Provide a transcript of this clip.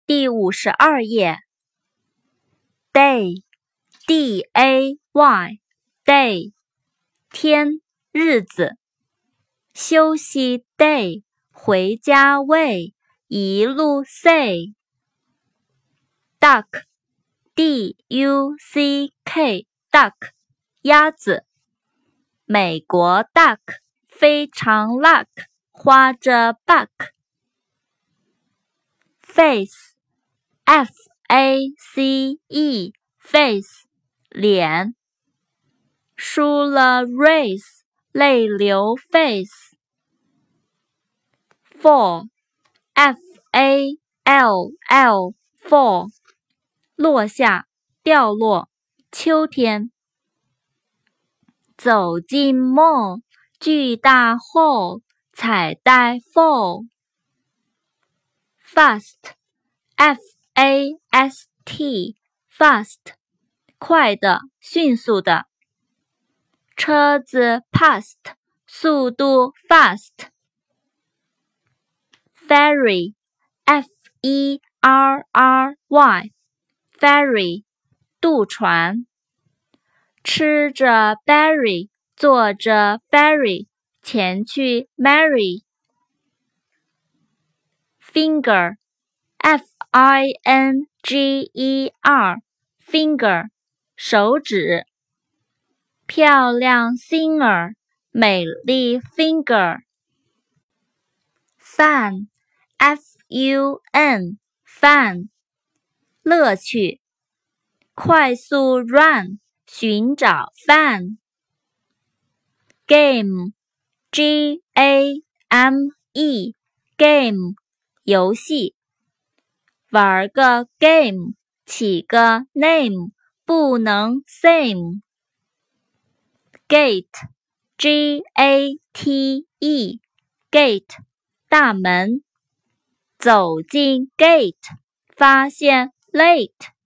第52页。Day, D-A-Y, day, 天，日子。休息 day, 回家 way, 一路 say。Duck, D-U-C-K, duck, 鸭子。美国 duck, 非常 luck, 花着 buck。Face, F-A-C-E, face, 脸。输了 race, 泪流 face。Fall, F-A-L-L, fall, 落下，掉落，秋天。走进 mall, 巨大 hall, 彩带 fall。Fast, F-A-S-T, fast, 快的，迅速的。车子 past, 速度 fast。Ferry, F-E-R-R-Y, ferry, 渡船。吃着 berry, 坐着 ferry, 前去 marry。Finger, F-I-N-G-E-R, finger, 手指。漂亮 singer, 美丽 finger。Fun, F-U-N, fun, 乐趣。快速 run, 寻找 fun。Game, G-A-M-E, game, 游戏。玩个 game, 起个 name, 不能 same。Gate, G-A-T-E, gate, 大门。走进 gate, 发现 late。